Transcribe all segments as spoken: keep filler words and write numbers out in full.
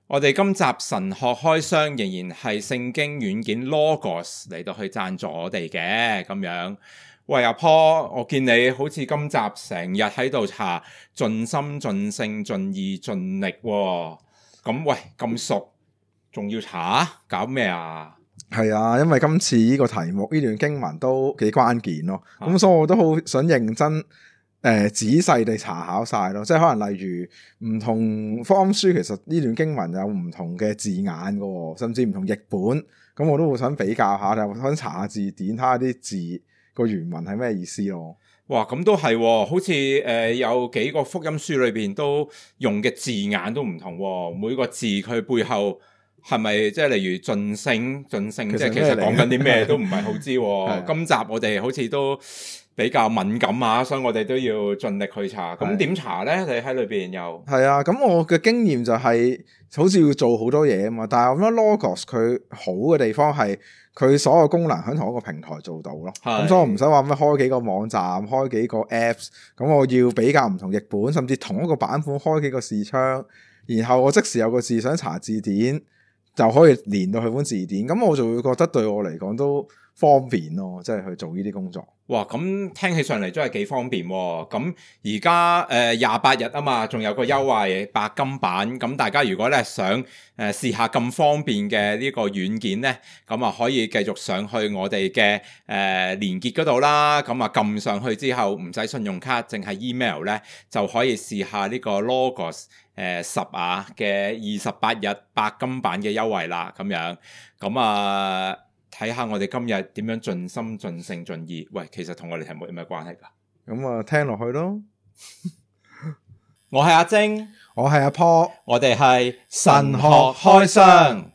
我哋今集神學開箱仍然係聖經軟件 Logos 嚟到去贊助我哋嘅咁樣。喂阿 Paul，我見你好似今集成日喺度查盡心盡性盡意盡力喎，咁喂咁熟，仲要查？搞咩啊？ 係啊，因為今次呢個題目呢段經文都幾關鍵咯，咁、啊、所以我都好想認真。誒、呃，仔細地查考晒咯，即係可能例如唔同福音書，其實呢段經文有唔同嘅字眼噶，甚至唔同譯本，咁我都會想比較下，就想查下字典，睇下啲字個原文係咩意思咯。 哇，咁都係、哦，好似誒、呃、有幾個福音書裏邊都用嘅字眼都唔同、哦，每個字佢背後係咪即係例如盡性盡性，即係其實講緊啲咩都唔係好知、哦。今集我哋好似都比較敏感啊，所以我哋都要盡力去查。咁點查咧？你喺裏邊又係啊？咁我嘅經驗就係、是、好似要做好多嘢啊嘛。但係我覺得 Logos 佢好嘅地方係佢所有功能喺同一個平台做到咯。咁所以我唔使話咩開幾個網站、開幾個 Apps。咁我要比較唔同譯本，甚至同一個版本開幾個視窗，然後我即時有個字想查字典，就可以連到去本字典。咁我就會覺得對我嚟講都方便咯，即係去做呢啲工作。 哇，咁聽起上嚟真係幾方便喎！咁而家誒廿八日啊嘛，仲有個優惠白金版，咁大家如果咧想誒試下咁方便嘅呢個軟件咧，咁啊可以繼續上去我哋嘅誒連結嗰度啦。咁啊撳上去之後唔使信用卡，淨係 email 咧就可以試下呢個 Logos 誒十啊嘅二十八日白金版嘅優惠啦。咁樣咁啊〜睇下我哋今日點樣盡心盡性盡意。喂，其實同我哋題目有咩關係噶？ 咁啊，聽落去咯。 我係阿晶， 我係阿 Paul， 我哋係神學開箱。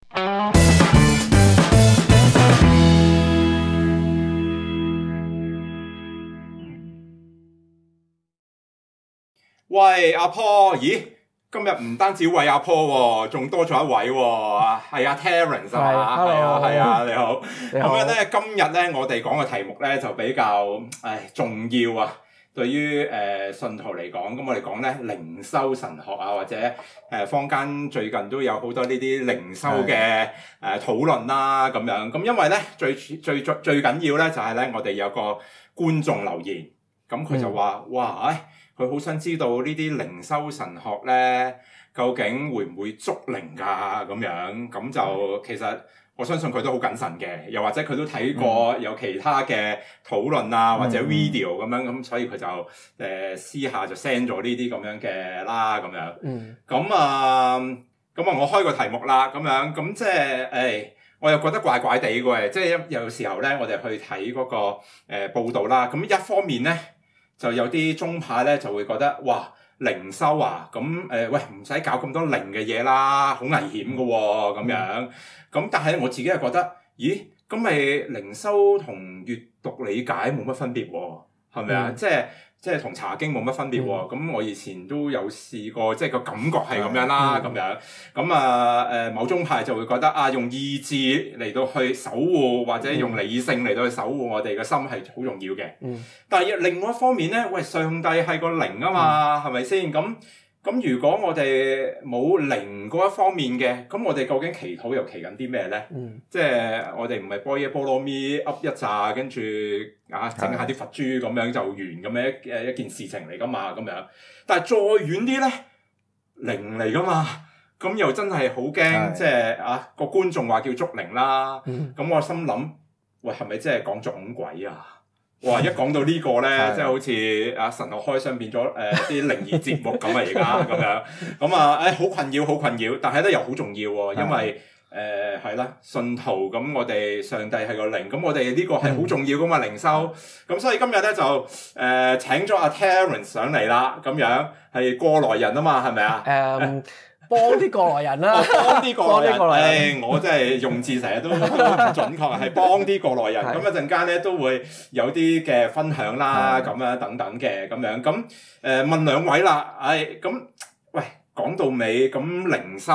喂，阿 Paul，咦？今日唔單止為阿 Paul 喎，仲多咗一位喎，係阿 Terence 啊嘛，係啊，係啊，你好。咁樣咧，今日咧，我哋講嘅題目咧就比較誒重要啊。對於誒、呃、信徒嚟講，咁我哋講咧靈修神學啊，或者誒、呃、坊間最近都有好多呢啲靈修嘅誒討論啦，咁樣。咁因為咧最最最最緊要咧就係咧，我哋有個觀眾留言，咁佢就話：嗯、哇，誒！佢好想知道呢啲靈修神學咧，究竟會唔會捉靈㗎？咁樣咁就其實我相信佢都好謹慎嘅，又或者佢都睇過有其他嘅討論啊，或者 video 咁樣，咁所以佢就誒、呃、私下就 send 咗呢啲咁樣嘅啦，咁樣。嗯。咁啊，咁啊，我開個題目啦，咁樣咁即係誒，我又覺得怪怪地嘅，即係有時候咧，我哋去睇嗰個誒、呃、報導啦，咁一方面咧。就有啲宗派咧就會覺得哇靈修啊咁誒、呃、喂唔使搞咁多靈嘅嘢啦，好危險㗎喎咁樣。咁但係我自己係覺得，咦咁咪靈修同閱讀理解冇乜分別喎，係咪啊？嗯、即係即係同查經冇乜分別喎。咁、嗯、我以前都有試過，即係個感覺係咁樣啦，咁、嗯、樣。咁啊誒某宗派就會覺得啊用意志嚟到去守護，或者用理性嚟到去守護我哋嘅心係好重要嘅。嗯、但係另外一方面咧，喂上帝係個靈啊嘛，係咪先？咁咁如果我哋冇靈嗰一方面嘅，咁我哋究竟祈禱又祈緊啲咩咧？嗯、即係我哋唔係波耶波羅蜜噏一紮，跟住啊整下啲佛珠咁樣就完咁樣誒一件事情嚟噶嘛咁樣。但係再遠啲咧，靈嚟噶嘛，咁又真係好驚，即係啊個觀眾話叫捉靈啦，咁、嗯、我心諗，喂係咪即係講撞鬼啊？哇！一講到呢個咧，即係好似啊神學開箱變咗誒啲靈異節目咁啊！而家咁樣咁啊，誒好困擾，好困擾，但係咧又好重要喎，因為誒係啦，信徒咁我哋上帝係個靈，咁我哋呢個係好重要噶嘛靈修，咁所以今日咧就誒請咗阿 Terence 上嚟啦，咁樣係過來人啊嘛，係咪啊？誒。 幫啲過來人啦、啊， 幫啲過來人。誒、哎，我真係用字成日都都唔準確，係幫啲過來人。咁一陣間咧都會有啲嘅分享啦，咁樣等等嘅咁樣。咁誒問兩位啦，誒咁喂講到尾咁靈修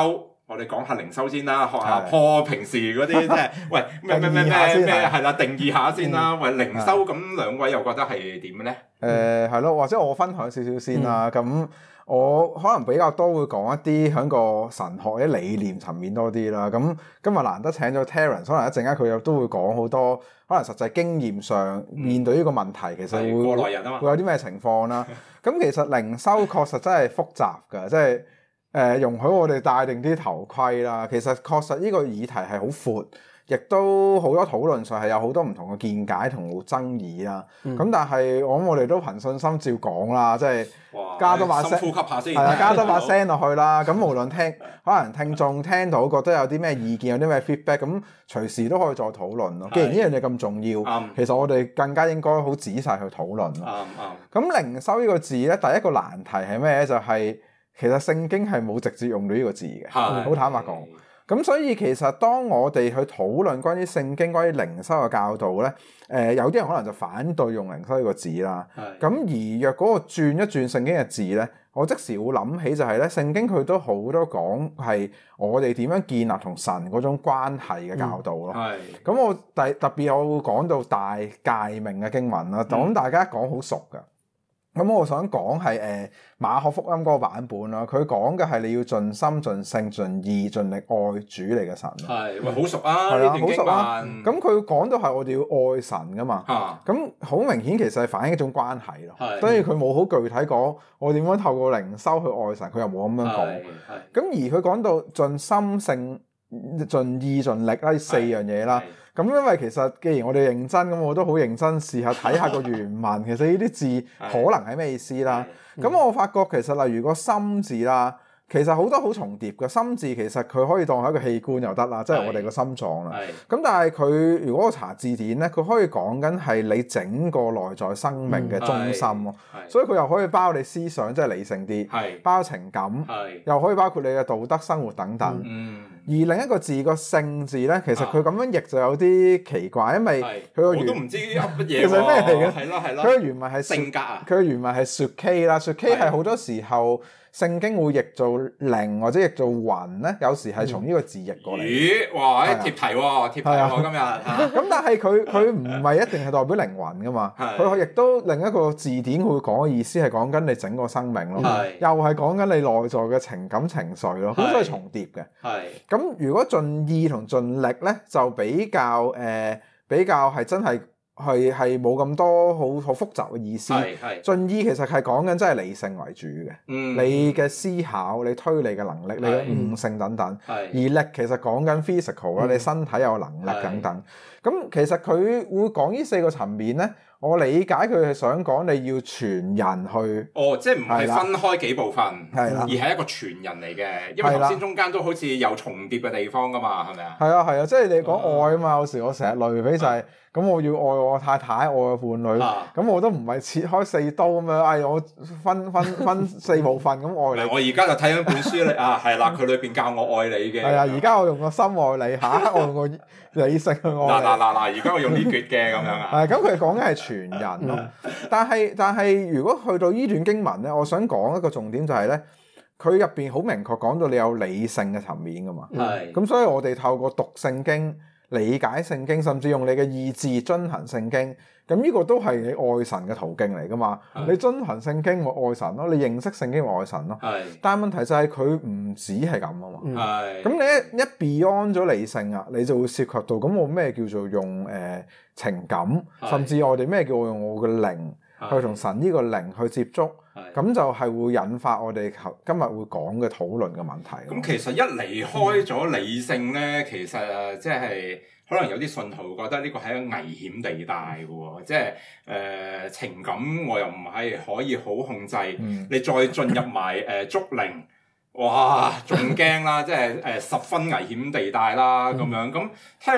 我哋講下靈修先啦，學下 Paul 平時嗰啲即係，喂咩咩咩咩咩係啦，定義下先啦。喂，靈修咁兩位又覺得係點咧？ 誒係咯，或者我分享少少先啦。咁、嗯、我可能比較多會講一啲喺個神學或者理念層面多啲啦。咁今日難得請咗 Terence，可能一陣間佢又都會講好多可能實際經驗上面對呢個問題，嗯、其實會過來人啊嘛， 會有啲咩情況啦。咁其實靈修確實真係複雜㗎，即係。誒、呃、容許我哋戴定啲頭盔啦，其實確實呢個議題係好闊，亦都好多討論上係有好多唔同嘅見解同爭議啦。咁、嗯、但係我諗我哋都憑信心照講啦，即係加多把聲， 深呼吸下先， 係啊，加多把聲落去啦。咁無論聽可能聽眾聽到覺得有啲咩意見，有啲咩 feedback，咁隨時都可以再討論咯。既然呢樣嘢咁重要， 嗯、 其實我哋更加應該好仔細去討論咯。 啱啱、嗯。 咁、嗯、靈修呢個字咧，第一個難題係咩咧？就係、是其實聖經係冇直接用到呢個字嘅，好坦白講。咁所以其實當我哋去討論關於聖經、關於靈修嘅教導咧，誒、呃、有啲人可能就反對用靈修呢個字啦。咁而若嗰個轉一轉聖經嘅字咧，我即時會諗起就係咧，聖經佢都好多講係我哋點樣建立同神嗰種關係嘅教導咯。咁、嗯、我第特別我會講到大誡命嘅經文啦，咁、嗯、大家講好熟㗎。咁我想講係誒馬可福音嗰個版本啦，佢講嘅係你要盡心盡性盡意盡力愛主你嘅神。 係，喂，好熟啊！ 係啊，好熟啊！咁佢講到係我哋要愛神噶嘛。嚇！咁好明顯其實係反映一種關係咯。係。所以佢冇好具體講我點樣透過靈修去愛神，佢又冇咁樣講。係。咁而佢講到盡心性盡意盡力啦，呢四樣嘢啦。咁因為其實既然我哋認真，咁我都好認真試下睇下個原文，其實呢啲字可能係咩意思啦。咁我發覺其實例如個心字啦，其實好多好重疊嘅。心字其實佢可以當係一個器官又得啦，即係我哋個心臟啦。咁但係佢如果我查字典咧，佢可以講緊係你整個內在生命嘅中心咯。所以佢又可以包你思想，即係理性啲，包情感，又可以包括你嘅道德生活等等。而另一個字個性字咧，其實佢咁樣譯就有啲奇怪，因為佢個原我都唔知噏乜嘢。 其實咩嚟嘅？ 係咯係咯。 佢嘅原文係性格啊。 佢嘅原文係 suke 啦 suke 係好多時候聖經會譯做靈或者譯做魂咧，有時係從呢個字譯過嚟。 咦？哇！貼題喎，貼題喎，今日。 咁但係佢佢唔係一定係代表靈魂噶嘛？佢亦都另一個字典會講嘅意思係講緊你整個生命咯，又係講緊你內在嘅情感情緒咯，咁所以重疊嘅。係。咁如果盡意同盡力咧，就比較誒、呃、比較係真係係係冇咁多好好複雜嘅意思。係係。盡意其實係講緊真係理性為主嘅，嗯、你嘅思考、你推理嘅能力、你嘅悟性等等。係。而力其實講緊 physical 啦、嗯，你身體有能力等等。咁其實佢會講呢四個層面咧。我理解佢係想講你要全人去， 哦，即係唔係分開幾部分， 係啦， 而係一個全人嚟嘅，因為頭先中間都好似有重疊嘅地方噶嘛，係咪啊？ 係啊係啊，即係你講愛啊嘛，有時我成日類比就係，咁我要愛我太太，愛我伴侶，咁我都唔係切開四刀咁樣，哎我分分分四部分咁愛你。 我而家就睇緊本書咧，啊係啦，佢裏邊教我愛你嘅。 係啊，而家我用個心愛你，下一刻我用個理性去愛你。 嗱嗱嗱嗱，而家我用呢橛嘅咁樣啊。 係，咁佢講緊係全人咯，但係但係如果去到呢段經文咧，我想講一個重點就係咧，佢入邊好明確講到你有理性嘅層面噶嘛，係，咁所以我哋透過讀聖經、理解聖經，甚至用你嘅意志遵行聖經，咁呢個都係你愛神嘅途徑嚟噶嘛，你遵行聖經咪愛神咯，你認識聖經咪愛神咯，係，但係問題就係佢唔止係咁啊嘛，係，咁你一一 beyond 咗理性啊，你就會涉及到咁我咩叫做用誒、呃、情感，甚至我哋咩叫我用我嘅靈去同神呢個靈去接觸，咁就係會引發我哋今日會講嘅討論嘅問題。 咁其實一離開咗理性咧，嗯、其實即係可能有啲信徒覺得呢個係一個危險地帶嘅喎，即係誒情感我又唔係可以好控制，嗯、你再進入埋誒觸靈，哇仲驚啦，即係誒、呃、十分危險地帶啦咁樣。咁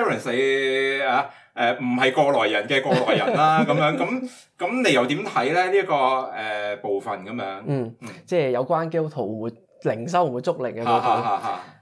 Terence 啊〜誒唔係過來人嘅過來人啦，咁樣咁咁你又點睇咧？呢、這、一個誒、呃、部分咁樣， 嗯，嗯即係有關基督徒會靈修會唔會觸靈嘅部分。誒、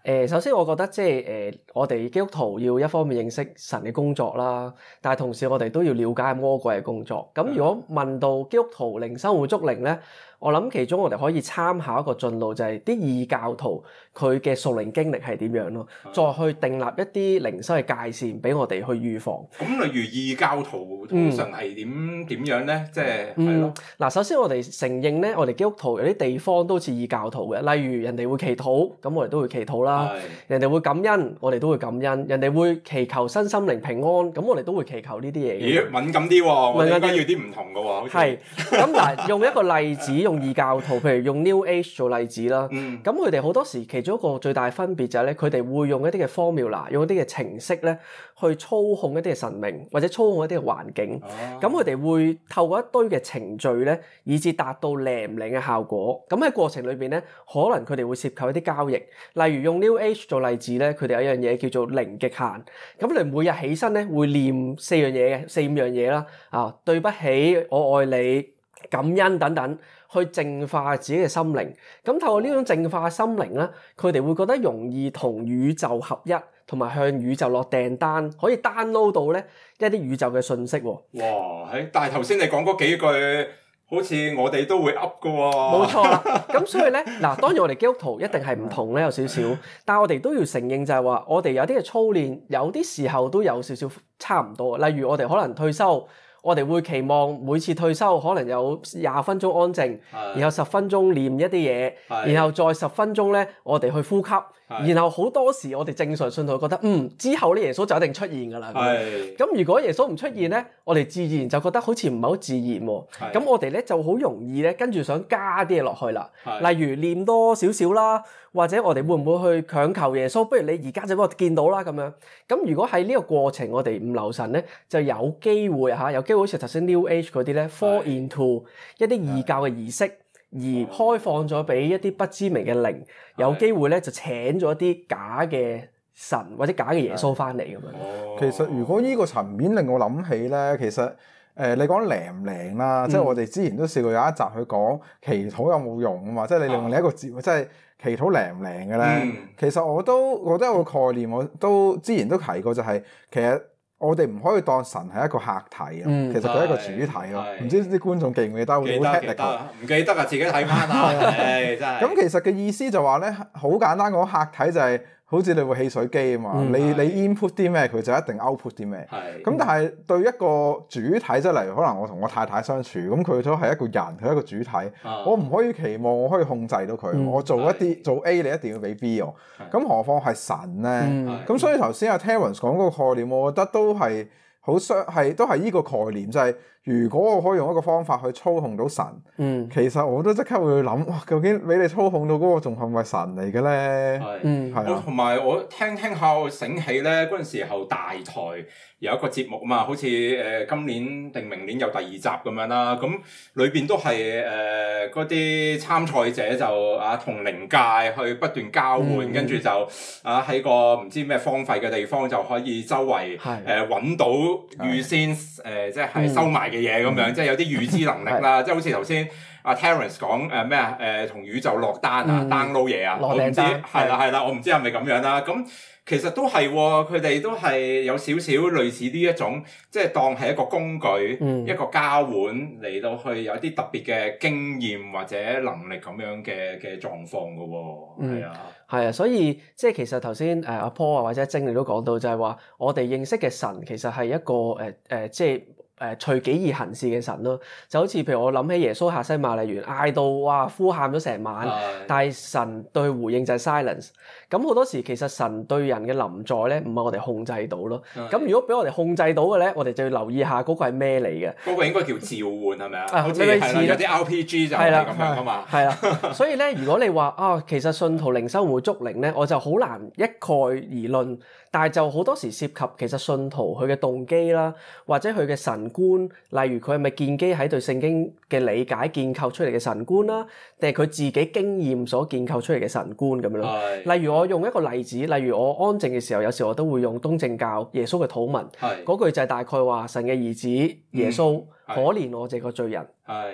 誒，首先我覺得即係誒，我哋基督徒要一方面認識神嘅工作啦，但係同時我哋都要了解魔鬼嘅工作。咁如果問到基督徒靈修會捉靈咧，我諗其中我哋可以參考一個進路，就係啲異教徒佢嘅屬靈經歷係點樣咯，再去訂立一啲靈修嘅界線俾我哋去預防。 咁例如異教徒通常係點點樣咧？即係係咯。 嗱，首先我哋承認咧，我哋基督徒有啲地方都似異教徒嘅，例如人哋會祈禱，咁我哋都會祈禱啦；人哋會感恩，我哋都會感恩；人哋會祈求身心靈平安，咁我哋都會祈求呢啲嘢。 咦，敏感啲喎，我哋應該要啲唔同嘅喎。好似係咁嗱，用一個例子。用異教徒，譬如用 New Age 做例子啦，咁佢哋好多時其中一個最大分別就係咧，佢哋會用一啲嘅 formula，用一啲嘅程式咧，去操控一啲嘅神明或者操控一啲嘅環境。咁佢哋會透過一堆嘅程序咧，以至達到靈唔靈嘅效果。咁喺過程裏邊咧，可能佢哋會涉及一啲交易。例如用 New Age 做例子咧，佢哋有一樣嘢叫做零極限。咁你每日起身咧，會念四樣嘢嘅，四五樣嘢啦。啊，對不起，我愛你，感恩等等。去淨化自己嘅心靈，咁透過呢種淨化心靈咧，佢哋會覺得容易同宇宙合一，同埋向宇宙落訂單，可以 download 到咧一啲宇宙嘅信息喎。 哇！但係頭先你講嗰幾句，好似我哋都會噏㗎喎。 冇錯啦，咁所以咧，嗱，當然我哋基督徒一定係唔同咧，有少少，但係我哋都要承認就係話，我哋有啲嘅操練，有啲時候都有少少差唔多。例如我哋可能退休。我哋會期望每次退休可能有廿分鐘安靜，然後十分鐘念一啲嘢，然後再十分鐘咧，我哋去呼吸。然後好多時我哋正常信徒覺得，嗯，之後咧耶穌就一定出現㗎啦。咁如果耶穌唔出現咧，我哋自然就覺得好似唔係好自然喎。咁我哋咧就好容易咧跟住想加啲嘢落去啦。例如念多少少啦，或者我哋會唔會去強求耶穌？不如你而家就俾我見到啦咁樣。咁如果喺呢個過程我哋唔留神咧，就有機會嚇，有機會好似頭先 New Age 嗰啲咧 fall into 一啲異教嘅儀式。而開放咗俾一啲不知名嘅靈，有機會咧就請咗一啲假嘅神或者假嘅耶穌翻嚟咁樣。 其實如果呢個層面令我諗起咧，其實誒、呃、你講靈唔靈啦，嗯、即係我哋之前都試過有一集去講祈禱有冇用啊嘛，即係你用另一個字，即係祈禱靈唔靈嘅咧。嗯、其實我都我都有個概念，我都之前都提過，就係其實。我哋唔可以當神係一個客體咯，嗯、其實佢係一個主體咯。唔知啲觀眾記唔記得？ 記得記得，唔記得啊！自己睇翻啊！唉，真係。咁其實嘅意思就話咧，好簡單講，客體就係、是。好似你部汽水機啊嘛，嗯、你你 input 啲咩，佢就一定 output 啲咩。咁是但係對一個主體，即係例如可能我同我太太相處，咁佢都係一個人，佢係一個主體，啊、我唔可以期望我可以控制到佢。嗯、我做一啲是做 A，你一定要俾 B 我。咁是何況係神咧？咁、嗯、所以頭先阿 Terence 講嗰個概念，我覺得都係好相係都係依個概念，就係、是。如果我可以用一個方法去操控到神，嗯、其實我都即刻會諗，哇！究竟俾你操控到嗰個仲係咪神嚟嘅咧？係，嗯，係啊。同埋我聽聽下，我醒起咧嗰陣時候大台有一個節目啊嘛，好似誒、呃、今年定明年有第二集咁樣啦。咁裏邊都係誒嗰啲參賽者就啊同靈界去不斷交換，跟住、嗯、就啊喺個唔知咩荒廢嘅地方就可以周圍誒揾到預先誒、呃、即係收埋嘅嘢咁樣，即係有啲預知能力啦，即係好似頭先阿 Terence 講誒咩啊，誒同宇宙落單啊，download 嘢啊，我唔知係啦係啦，我唔知係咪咁樣啦。咁其實都係，佢哋都係有少少類似呢一種，即係當係一個工具，一個交換嚟到去有啲特別嘅經驗或者能力咁樣嘅嘅狀況㗎喎。係啊， 係啊，所以即係其實頭先誒阿 Paul 啊或者阿晶你都講到，就係話我哋認識嘅神其實係一個誒誒即係。誒隨己而行事嘅神咯，就好似譬如我諗起耶穌客西馬尼園嗌到哇呼喊咗成晚，的但係神對佢回應就係 silence。咁好多時其實神對人嘅臨在咧，唔係我哋控制到咯。咁的如果俾我哋控制到嘅咧，我哋就要留意下嗰個係咩嚟嘅。 嗰個應該叫召喚係咪啊？好似係啦，有啲 R P G 就係咁樣噶嘛。係啦，所以咧，如果你話啊，其實信徒靈修會捉靈咧，我就好難一概而論。但係就好多時涉及其實信徒佢嘅動機啦，或者佢嘅神觀，例如佢係咪建基喺對聖經嘅理解建構出嚟嘅神觀啦，定係佢自己經驗所建構出嚟嘅神觀咁樣咯。是例如我用一個例子，例如我安靜嘅時候，有時我都會用東正教耶穌嘅禱文，嗰是句就係大概話神嘅兒子耶穌、嗯、可憐我這個罪人。係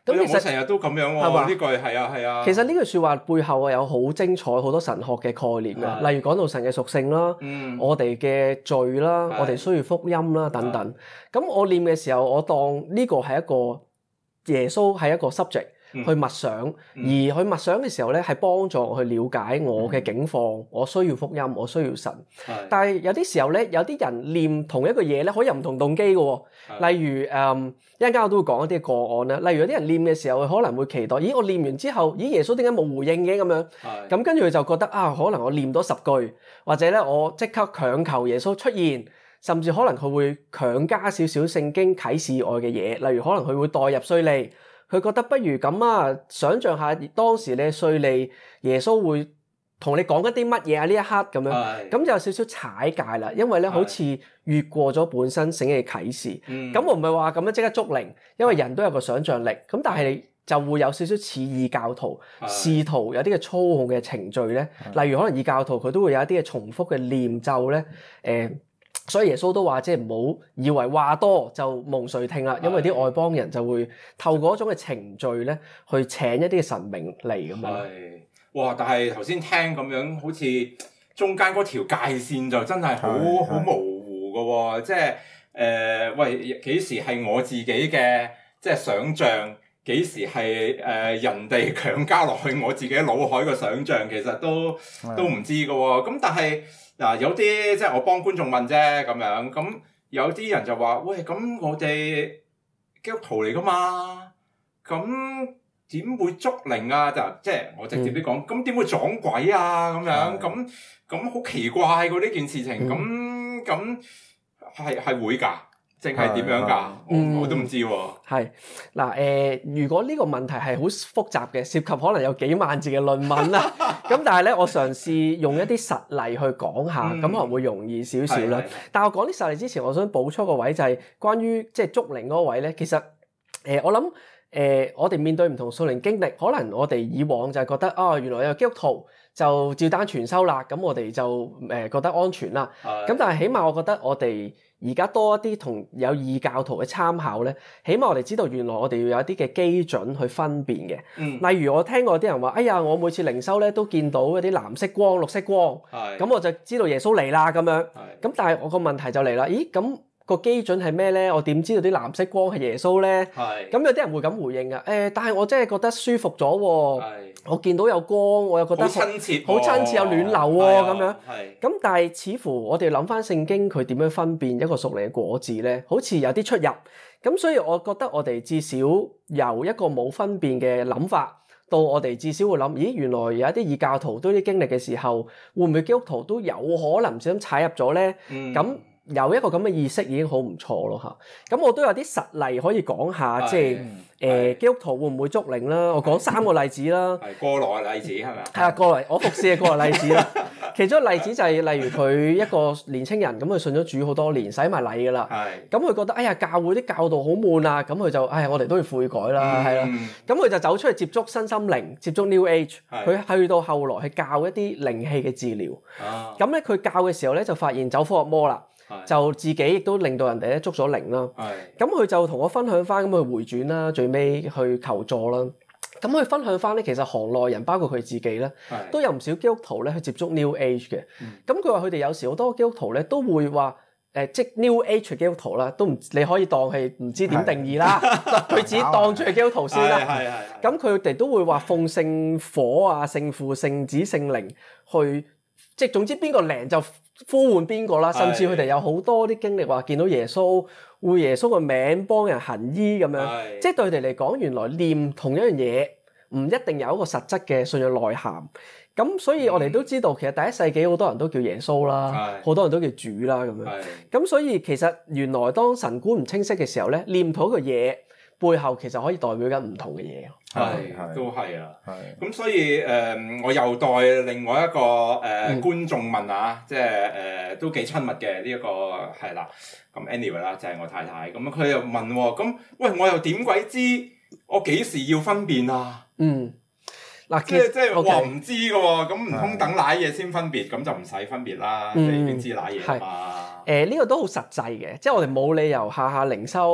咁其實成日都咁樣喎，呢句係啊係啊。 其實呢句説話背後啊有好精彩好多神學嘅概念嘅，例如講到神嘅屬性啦，嗯、我哋嘅罪啦，是我哋需要福音啦等等。咁是我念嘅時候，我當呢個係一個耶穌係一個 subject。去默想，而去默想嘅時候咧，係幫助我去了解我嘅境況，我需要福音，我需要神。是但係有啲時候咧，有啲人念同一個嘢咧，可以有唔同動機嘅喎。是例如誒，一陣間我都會講一啲個案啦。例如有啲人念嘅時候，佢可能會期待，咦，我念完之後，咦，耶穌點解冇回應嘅咁樣？咁是跟住佢就覺得啊，可能我念多十句，或者咧我即刻強求耶穌出現，甚至可能佢會強加少少聖經啟示以外嘅嘢，例如可能佢會代入稅吏。佢覺得不如咁啊，想像下當時你稅吏，耶穌會同你講一啲乜嘢啊？呢一刻咁樣，咁是就有少少踩界啦，因為咧好似越過咗本身聖經嘅啟示。咁、嗯、我唔係話咁樣即刻捉靈，因為人都有個想像力。咁但係就會有少少似異教徒，試是圖有啲嘅操控嘅程序咧，是例如可能異教徒佢都會有一啲嘅重複嘅念咒咧，誒、呃。所以耶穌都話，即係唔好以為話多就蒙垂聽啦，因為啲外邦人就會透過一種嘅程序咧，去請一啲嘅神明嚟咁樣。係，哇！但係頭先聽咁樣，好似中間嗰條界線就真係好好模糊㗎喎，即係誒、呃，喂，幾時係我自己嘅即係想像，幾時係誒、呃、人哋強加落去我自己腦海嘅想像，其實都都唔知㗎喎。咁但係。嗱，有啲即係我幫觀眾問啫咁樣，咁有啲人就話：喂，咁我哋基督徒嚟噶嘛？咁點會捉靈啊？就即係我直接啲講，咁點會撞鬼啊？咁樣咁咁好奇怪喎呢件事情，咁咁係係會㗎？淨係點樣㗎？我我都唔知喎。係嗱誒，如果呢個問題係好複雜嘅，涉及可能有幾萬字嘅論文啦。咁但係咧，我嘗試用一啲實例去講下，咁、嗯、可能會容易少少啦。但係我講啲實例之前，我想補充個位就係關於即係捉靈嗰個位咧。其實誒、呃，我諗誒、呃，我哋面對唔同屬靈經歷，可能我哋以往就係覺得啊、哦，原來有基督徒就照單全收啦，咁我哋就誒、呃、覺得安全啦。咁的但係起碼我覺得我哋而家多一啲同有異教徒嘅參考咧，起碼我哋知道原來我哋要有一啲嘅基準去分辨嘅。嗯、例如我聽過啲人話：哎呀，我每次靈修咧都見到一啲藍色光、綠色光，咁是我就知道耶穌嚟啦咁樣。咁是但係我個問題就嚟啦，咦咁？個基準係咩咧？我點知道啲藍色光係耶穌咧？係咁是有啲人會咁回應噶。誒、欸，但係我真係覺得舒服咗喎。係是我見到有光，我又覺得好親切，好親切有暖流喎。咁樣係咁，但係似乎我哋諗翻聖經，佢點樣分辨一個屬靈嘅果子咧？好似有啲出入。咁所以我覺得我哋至少由一個冇分辨嘅諗法，到我哋至少會諗：咦，原來有一啲異教徒都啲經歷嘅時候，會唔會基督徒都有可能唔小心踩入咗咧？咁、嗯有一個咁嘅意識已經好唔錯咯嚇，咁我都有啲實例可以講下，即係誒基督徒會唔會捉靈啦？我講三個例子啦。係過來嘅例子係咪啊？係啊，過來我服侍嘅過來例子啦。其中一個例子就係例如佢一個年青人咁，佢信咗主好多年，洗埋禮㗎啦。係。咁佢覺得哎呀教會啲教導好悶啊，咁佢就哎呀我哋都要悔改啦，係啦。咁佢就走出去接觸身心靈，接觸 New Age。佢去到後來去教一啲靈氣嘅治療。啊。咁咧佢教嘅時候咧就發現走火入魔啦。就自己亦都令到人哋咧捉咗靈啦，咁佢就同我分享翻，咁佢回轉啦，最尾去求助啦。咁佢分享翻咧，其實行內人包括佢自己咧，都有唔少基督徒咧去接觸 New Age 嘅。咁佢話佢哋有時好多基督徒咧都會話誒，即 New Age 基督徒啦，都唔你可以當係唔知點定義啦，佢自己當住係基督徒先啦。係係。咁佢哋都會話奉聖火啊、聖父、聖子、聖靈去，即總之邊個靈就呼喚邊個啦，甚至佢哋有好多啲經歷話見到耶穌，會耶穌個名幫人行醫咁樣，是即係對佢哋嚟講，原來念同一樣嘢唔一定有一個實質嘅信仰內涵。咁所以我哋都知道，其實第一世紀好多人都叫耶穌啦，好是多人都叫主啦咁樣。咁是所以其實原來當神觀唔清晰嘅時候咧，念同一個嘢背後其實可以代表緊唔同嘅嘢。係，係都係啊。係。咁所以誒、呃，我又代另外一個誒、呃嗯、觀眾問啊，即係誒、呃、都幾親密嘅呢一個係啦。咁 anyway 啦，就係我太太。咁佢又問喎，咁喂我又點鬼知我幾時要分辨啊？嗯。嗱，即係即係話唔知嘅喎，咁唔通等瀨嘢先分別，咁就唔使分別啦，你已經知瀨嘢啊嘛。誒，呢個都好實際嘅，即係我哋冇理由下下靈修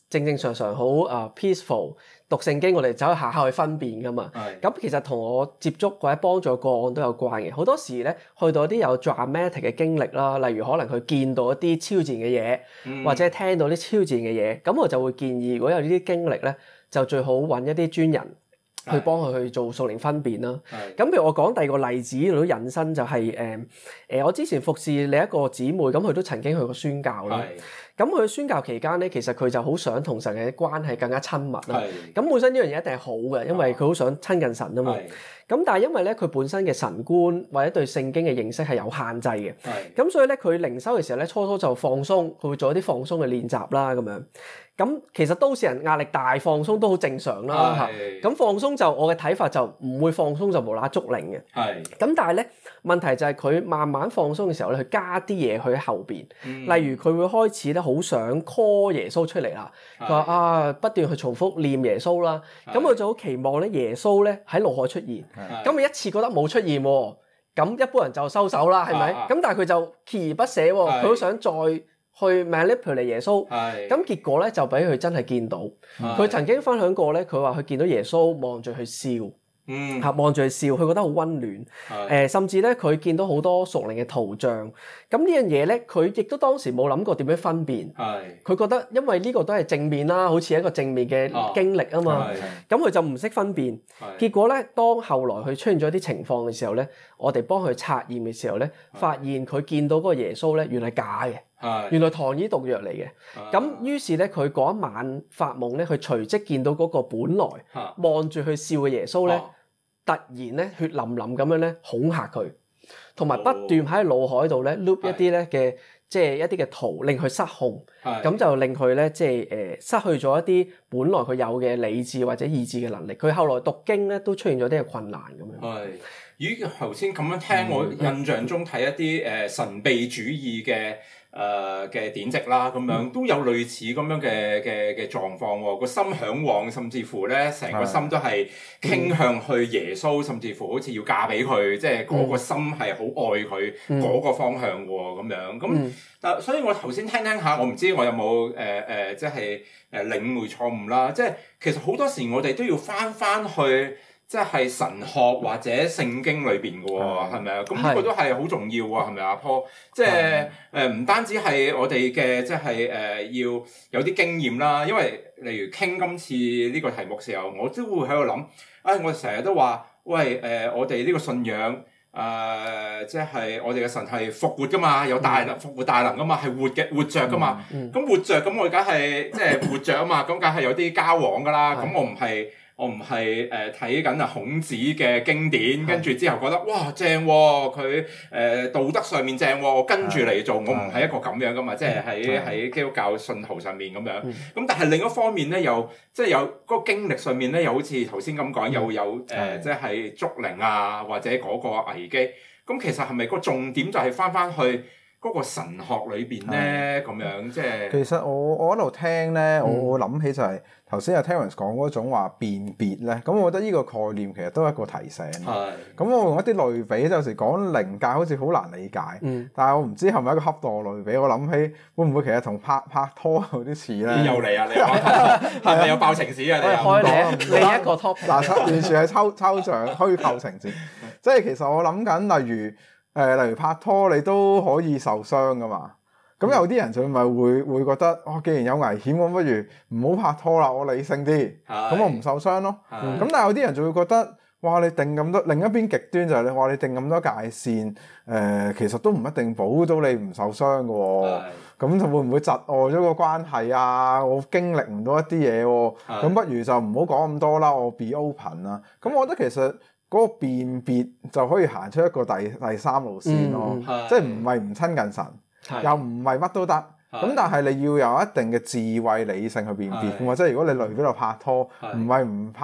正正常常好啊 peaceful 讀聖經，我哋走去下下去分辨噶嘛。咁其實同我接觸或者幫助個案都有關嘅。好多時咧去到一啲有 dramatic 嘅經歷啦，例如可能佢見到一啲超自然嘅嘢，嗯、或者聽到啲超自然嘅嘢，咁我就會建議如果有呢啲經歷咧，就最好揾一啲專人去幫佢去做屬靈分辨啦。咁譬如我講第二個例子，都引申就係誒誒，我之前服侍另一個姊妹，咁佢都曾經去過宣教啦。咁佢宣教期間咧，其實佢就好想同神嘅關係更加親密啦。咁本身呢樣嘢一定係好嘅，因為佢好想親近神啊嘛。咁但係因為咧，佢本身嘅神觀或者對聖經嘅認識係有限制嘅。咁所以咧，佢靈修嘅時候咧，初初就放鬆，佢會做一啲放鬆嘅練習啦，咁樣。咁其實都市人壓力大，放鬆都好正常啦嚇。咁放鬆就我嘅睇法就唔會放鬆就無啦啦捉靈嘅。係。咁但係咧，問題就係佢慢慢放鬆嘅時候咧，佢加啲嘢去喺後邊。例如佢會開始咧好想 call 耶穌出嚟啦。佢話啊，不斷去重複念耶穌啦。咁佢就好期望咧耶穌咧喺腦海出現。咁佢一次覺得冇出現喎，咁一般人就收手啦，係咪？咁但係佢就鍥而不捨喎，佢好想再去 manipulate 耶穌，咁結果咧就俾佢真係見到。佢曾經分享過咧，佢話佢見到耶穌望住佢笑。嗯，嚇望住佢笑，佢覺得好溫暖。誒、呃，甚至咧佢見到好多屬靈嘅圖像。咁呢樣嘢咧，佢亦都當時冇諗過點樣分辨。係，佢覺得因為呢個都係正面啦，好似一個正面嘅經歷啊嘛。咁佢就唔識分辨。結果咧，當後來佢出現咗啲情況嘅時候咧，我哋幫佢測驗嘅時候咧，發現佢見到嗰個耶穌咧，原來假嘅。係，原來糖衣毒藥嚟嘅。咁於是咧，佢嗰一晚發夢咧，佢隨即見到嗰個本來望住佢笑嘅耶穌咧。突然咧，血淋淋咁樣咧恐嚇佢，同埋不斷喺腦海度咧 loop 一啲咧嘅即係一啲嘅圖，令佢失控，咁就令佢咧即係誒失去咗一啲本來佢有嘅理智或者意志嘅能力。佢後來讀經咧都出現咗啲嘅困難咁樣。係， 咦？頭先咁樣聽，我印象中睇一啲誒神秘主義嘅。誒嘅典籍啦，咁樣都有類似咁樣嘅嘅嘅狀況喎，個心嚮往，甚至乎咧成個心都係傾向去耶穌，甚至乎好似要嫁俾佢，即係嗰個心係好愛佢嗰個方向喎，咁樣咁。但所以我頭先聽聽下，我唔知我有冇誒誒，即係誒領會錯誤啦。即係其實好多時我哋都要返返去。即係神學或者聖經裏邊嘅喎，係咪啊？咁呢個都係好重要喎，係咪阿 Paul？即係誒唔單止係我哋嘅，即係誒要有啲經驗啦。因為例如傾今次呢個題目時候，我都會喺度諗，啊我成日都話，喂誒、呃，我哋呢個信仰誒、呃，即係我哋嘅神係復活噶嘛，有大能復活大能噶嘛，係活嘅活著噶嘛。咁、嗯嗯、活著咁我梗係即係活著啊嘛，咁梗係有啲交往噶啦。咁我唔係。我唔係誒睇緊啊孔子嘅經典，跟住之後覺得哇正喎、哦，佢誒、呃、道德上面正喎、哦，我跟住嚟做，我唔係一個咁樣噶嘛，即係喺喺基督教信徒上面咁樣。咁、嗯、但係另一方面咧，又即係有嗰個經歷上面咧，又好似頭先咁講，又有誒、呃、即係捉靈啊，或者嗰個危機。咁其實係咪個重點就係返返去嗰個神學裏邊咧？咁樣即係其實我我喺度聽咧，我我諗起就係、是。頭先阿 Terence 講嗰種話辨別咧，咁我覺得呢個概念其實都係一個提醒。係。咁我用一啲類比，有時講靈界好似好難理解。嗯。但係我唔知係咪一個恰當類比，我諗起會唔會其實同拍拍拖有啲似咧？ 又嚟啊！你講係咪有爆情史啊？你開你另一個 topic。 嗱，完全係抽抽象虛構情節。即係其實我諗緊，例如誒、呃，例如拍拖，你都可以受傷噶嘛。咁有啲人就咪會會覺得，哦，既然有危險，我不如唔好拍拖啦，我理性啲，咁我唔受傷咯。咁但係有啲人就會覺得，哇！你定咁多，另一邊極端就係你話你定咁多界線，誒、呃，其實都唔一定保到你唔受傷㗎喎。咁就會唔會窒礙咗個關係啊？我經歷唔到一啲嘢喎，咁不如就唔好講咁多啦，我 be open 啦。咁我覺得其實嗰個辨別就可以行出一個第第三路線咯，嗯、即係唔係唔親近神。又唔係乜都得，咁但係你要有一定嘅智慧理性去辨別嘅嘛，即係如果你嚟呢度拍拖，唔係唔拍，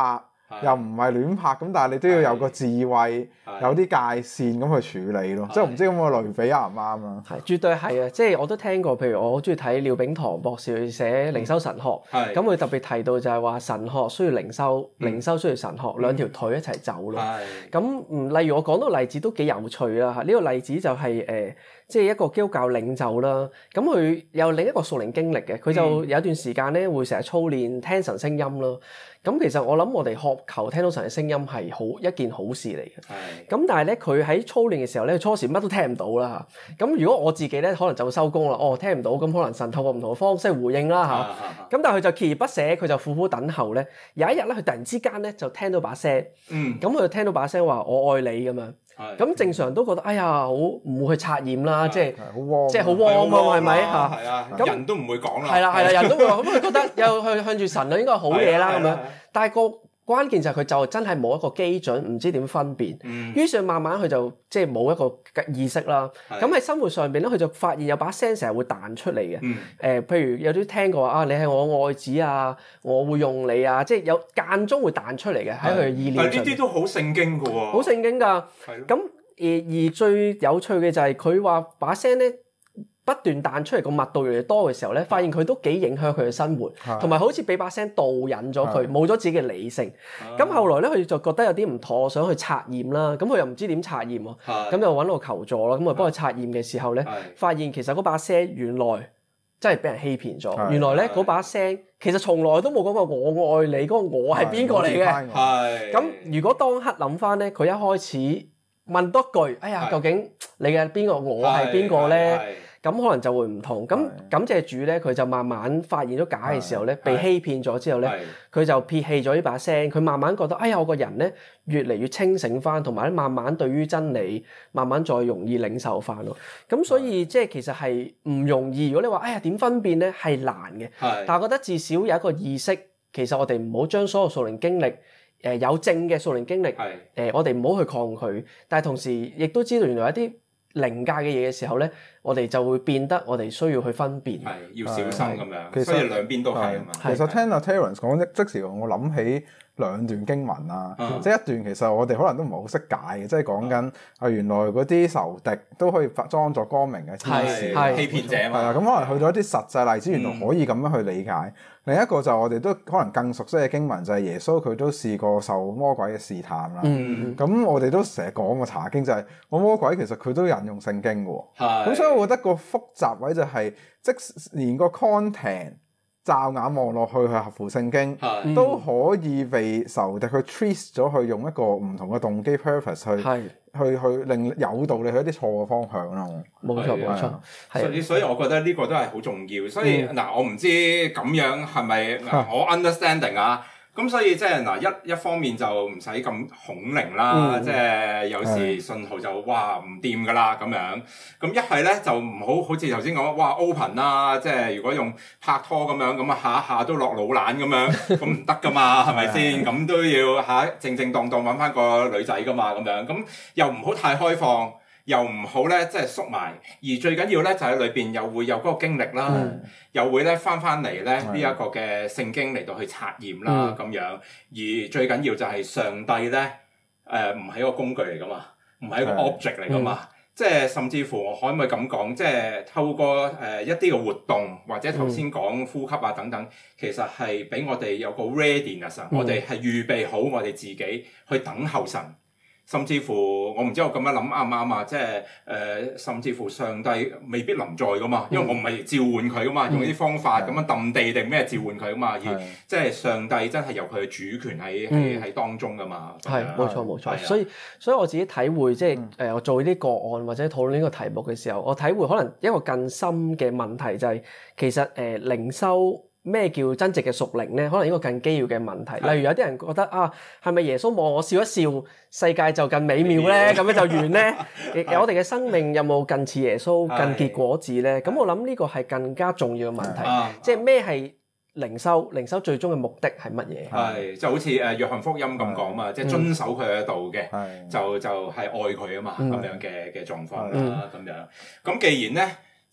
又唔係亂拍咁，但係你都要有個智慧，有啲界線咁去處理咯。即係唔知咁個類比啱唔啱啊？ 係，絕對係啊！即係我都聽過，譬如我好中意睇廖炳棠博士寫靈修神學，咁佢特別提到就係話神學需要靈修，靈修需要神學，兩條腿一齊走咯。咁嗯，例如我講到個例子都幾有趣啦嚇。呢個例子就係誒，即係一個基督教領袖啦。咁佢有另一個屬靈經歷嘅，佢就有一段時間咧會成日操練聽神聲音咯。咁其實我諗我哋渴求聽到神嘅聲音係好一件好事嚟嘅。咁但係咧佢喺操練嘅時候咧，初時乜都聽唔到啦嚇。咁如果我自己咧，可能就會收工啦。哦，聽唔到，咁可能神透過唔同嘅方式回應啦嚇。咁但係佢就鍥而不捨，佢就苦苦等候咧。有一日咧，佢突然之間咧就聽到把聲。嗯。咁佢就聽到把聲話我愛你咁樣。係。咁正常都覺得哎呀好唔會去察驗啦，即係好 warm， 即係好 warm 啊，係咪嚇？ 係啊。咁人都唔會講啦。 係啦係啦，人都會話咁佢覺得又向向住神啊，應該係好嘢啦咁樣。但係個關鍵就係佢就真係冇一個基準，唔知點分辨。嗯、於是慢慢佢就即係冇一個意識啦。咁喺的生活上邊咧，佢就發現有把聲成日會彈出嚟嘅。誒、嗯呃，譬如有啲聽過啊，你係我愛子啊，我會用你啊，即係有間中會彈出嚟嘅喺佢嘅意念上。 但呢啲都好聖經㗎喎。 好聖經㗎。係咁而而最有趣嘅就係佢話把聲咧，不斷彈出嚟個密度越嚟越多嘅時候咧，發現佢都幾影響佢嘅生活，同埋好似俾把聲導引咗佢，冇咗自己嘅理性。咁後來咧，佢就覺得有啲唔妥，想去測驗啦。咁佢又唔知點測驗喎，咁就揾我求助啦。咁啊幫佢測驗嘅時候咧，發現其實嗰把聲原來真係俾人欺騙咗。原來咧嗰把聲其實從來都冇講過我愛你，嗰個我係邊個嚟嘅？係。咁如果當刻諗翻咧，佢一開始問多句，哎呀，究竟你嘅邊個我係邊個咧？咁可能就會唔同，咁感謝主咧，佢就慢慢發現咗假嘅時候咧，被欺騙咗之後咧，佢就撇棄咗呢把聲，佢慢慢覺得，哎呀，我個人咧越嚟越清醒翻，同埋咧慢慢對於真理慢慢再容易領受翻咯。咁所以即係其實係唔容易。如果你話，哎呀點分辨咧，係難嘅。但係我覺得至少有一個意識，其實我哋唔好將所有屬靈經歷，誒、呃、有正嘅屬靈經歷，誒、呃、我哋唔好去抗拒，但係同時亦都知道原來一啲靈界嘅嘢嘅時候咧，我哋就會變得我哋需要去分辨，係要小心咁樣。其實所以兩邊都係啊嘛。 其實聽阿 Terence 講即即時我諗起兩段經文啊，嗯、即係一段其實我哋可能都唔係好識解嘅，即係講緊啊原來嗰啲仇敵都可以裝作光明嘅天使， 欺騙者嘛。 係啊，咁可能去到一啲實際例子，原來可以咁樣去理解。嗯、另一個就我哋都可能更熟悉嘅經文就係耶穌佢都試過受魔鬼嘅試探啦。咁、嗯嗯、我哋都成日講過查經就係、是，我魔鬼其實佢都引用聖經嘅喎。咁是所以我覺得個複雜位就係、是，即連個 content。驟眼望落去係合乎聖經，是都可以被仇敵去 twist 咗，去用一個唔同嘅動機 purpose 去是去去令誘導你去一啲錯嘅方向咯。冇錯冇錯， 所以所以我覺得呢個都係好重要。所以嗱、嗯，我唔知咁樣係咪我 understanding 啊？咁所以即係嗱，一一方面就唔使咁恐靈啦，嗯、即係有時信號就哇唔掂噶啦咁樣。咁一係咧就唔好好似頭先講，哇 open 啦，即係如果用拍拖咁樣，咁啊下下都落老懶咁樣，咁唔得噶嘛，係咪先？咁都要嚇正正當當揾翻個女仔噶嘛，咁樣咁又唔好太開放。又唔好咧，即係縮埋，而最緊要咧就喺裏邊又會有嗰個經歷啦，嗯、又會咧翻翻嚟咧呢一個嘅聖經嚟到去測驗啦咁、嗯、樣，而最緊要就係上帝咧，誒唔係一個工具嚟噶嘛，唔係一個 object 嚟噶嘛，嗯、即係甚至乎我可唔可以咁講，即係透過誒、呃、一啲嘅活動或者頭先講呼吸啊等等，其實係俾我哋有個 readiness，、嗯、我哋係預備好我哋自己去等候神。甚至乎，我唔知我咁樣諗啱唔啱啊！即係誒、呃，甚至乎上帝未必臨在噶嘛，因為我唔係召喚佢噶嘛，嗯、用啲方法咁樣揼地定咩召喚佢噶嘛，而的即係上帝真係有佢嘅主權喺喺喺當中噶嘛。係冇錯冇錯，的所以所以我自己體會，即係誒、呃，我做呢啲個案或者討論呢個題目嘅時候，我體會可能一個更深嘅問題就係、是、其實誒靈修。咩叫真正嘅屬靈咧？可能一個更基要嘅問題。例如有啲人覺得啊，係咪耶穌望我笑一笑，世界就更美妙咧？咁樣就完咧？我哋嘅生命有冇更似耶穌、更結果子咧？咁我諗呢個係更加重要嘅問題。即係咩係靈修？靈修最終嘅目的係乜嘢？ 係就好似誒約翰福音咁講嘛，即係遵守佢嘅道嘅，就就係愛佢啊嘛，咁樣嘅嘅狀況啦，咁樣。咁既然咧，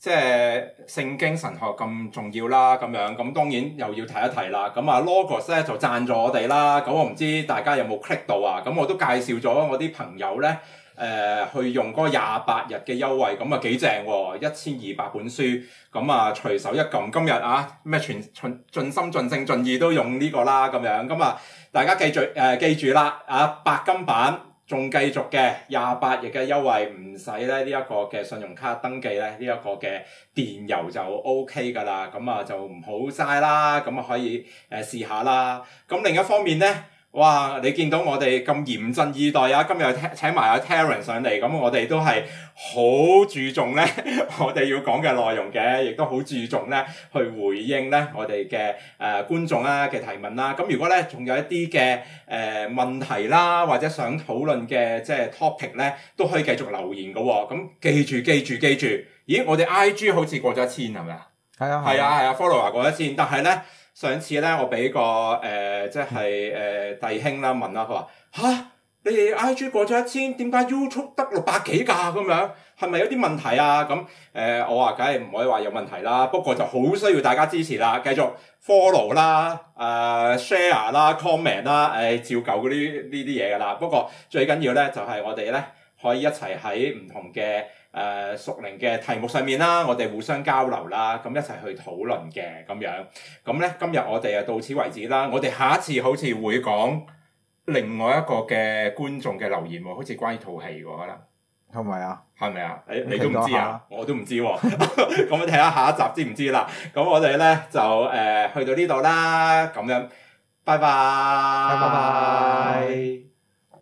即係聖經神學咁重要啦，咁樣咁當然又要提一提啦。咁啊 Logos 咧就贊助我哋啦。咁我唔知大家有冇 click 到啊？咁我都介紹咗我啲朋友咧，誒、呃、去用嗰廿八日嘅優惠，咁啊幾正喎，一千二百本書，咁啊隨手一撳，今日啊咩全盡盡心盡性盡意都用呢個啦，咁樣咁啊大家記住誒、呃、記住啦，啊白金版。仲繼續嘅廿八日嘅優惠，唔使咧呢一個嘅信用卡登記咧，呢、這、一個嘅電郵就 O K 㗎啦，咁啊就唔好嘥啦，咁啊可以誒、呃、試下啦。咁另一方面咧，哇！你見到我哋咁嚴陣以待啊，今日請請埋阿 Terence 上嚟，咁我哋都係好注重咧，我哋要講嘅內容嘅，亦都好注重咧去回應咧我哋嘅誒觀眾啦嘅提問啦。咁如果咧仲有一啲嘅誒問題啦，或者想討論嘅即係 topic 咧，都可以繼續留言嘅喎。咁記住記住記住，咦？我哋 I G 好似過咗一千係咪啊？係啊係啊係啊 ，follower 過一千，但係咧。上次咧，我俾個誒、呃，即係誒、呃、弟兄啦問啦，佢話吓，你哋 I G 過咗一千，點解 YouTube 得六百幾㗎咁樣？係咪有啲問題啊？咁誒、呃，我話梗係唔可以話有問題啦，不過就好需要大家支持啦，繼續 follow 啦、誒、呃、share 啦、comment 啦，誒、呃、照舊嗰啲呢啲嘢㗎啦。不過最緊要咧，就係、是、我哋咧可以一齊喺唔同嘅。誒屬靈嘅題目上面啦，我哋互相交流啦，咁一齊去討論嘅咁樣。咁咧今日我哋啊到此為止啦。我哋下一次好似會講另外一個嘅觀眾嘅留言喎，好似關於套戲喎，可能係咪啊？係咪啊？你你都唔知啊？我都唔知喎。咁我睇下下一集知唔知啦？咁我哋咧就誒、呃、去到呢度啦，咁樣，拜拜，拜拜。